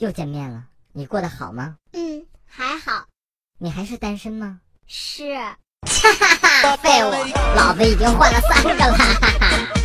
又见面了，你过得好吗？ 还好。 你还是单身吗？ 是。 哈哈哈，废物，老子已经换了3个了，哈哈哈。